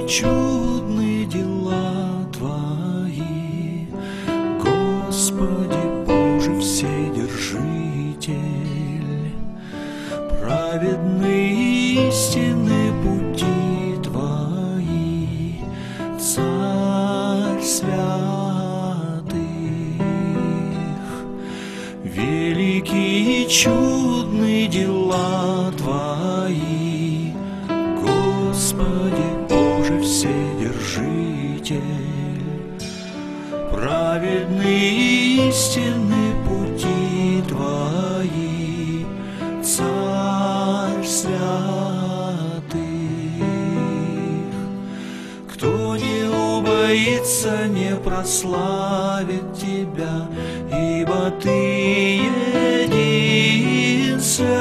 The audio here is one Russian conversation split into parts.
чудны дела Твои, Господи Боже Вседержитель. Праведны истины пути Твои, Царь святых. Великие и чудны дела Твои, Господи Боже Вседержитель. Праведны истины пути Твои, Царь святых. Кто не убоится, не прославит Тебя, ибо Ты един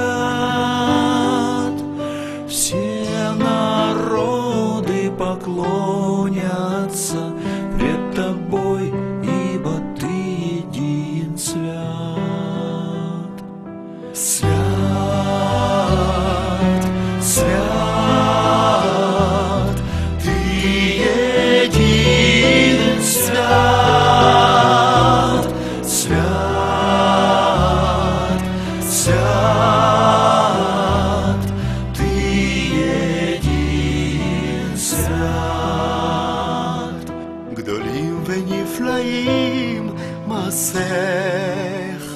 свят. Все народы поклонятся пред Тобой, ибо Ты един свят. Свят, свят, Ты един свят. Свят, свят, Ты един свят. גדולים ונפלאים מעשיך,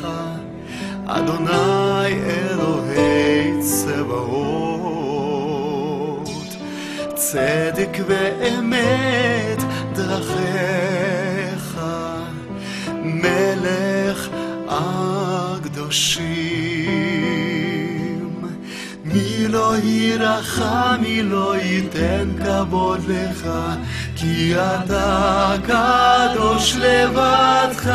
אדוני אלוהי צבאות. צדק ואמת דרכיך, מלך הקדושים. מי לא יירחם, מי לא ייתן כבוד לך, כי אתה קדוש לבדך.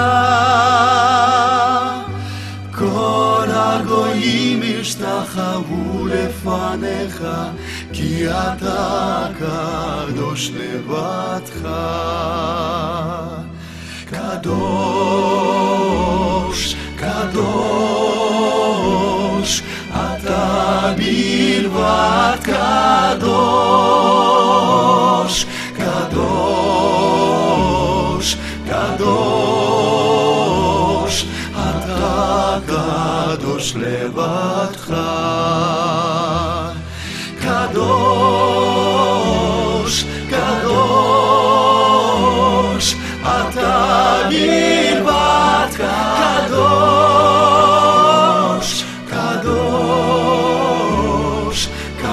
כל הגויים ישתחוו לפניך, כי אתה קדוש לבדך. קדוש, קדוש, אתה בלבד קדוש. קדוש, קדוש, אתה קדוש לבדך. קדוש, קדוש, אתה בלבד קדוש. קדוש,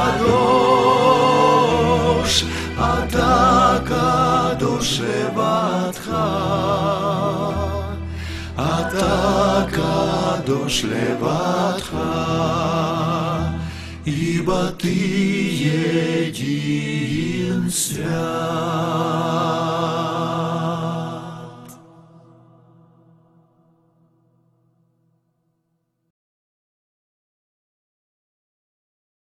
קדוש, אתה קדוש לבדך. אתה קדוש לבדך, ибо Ты един свят.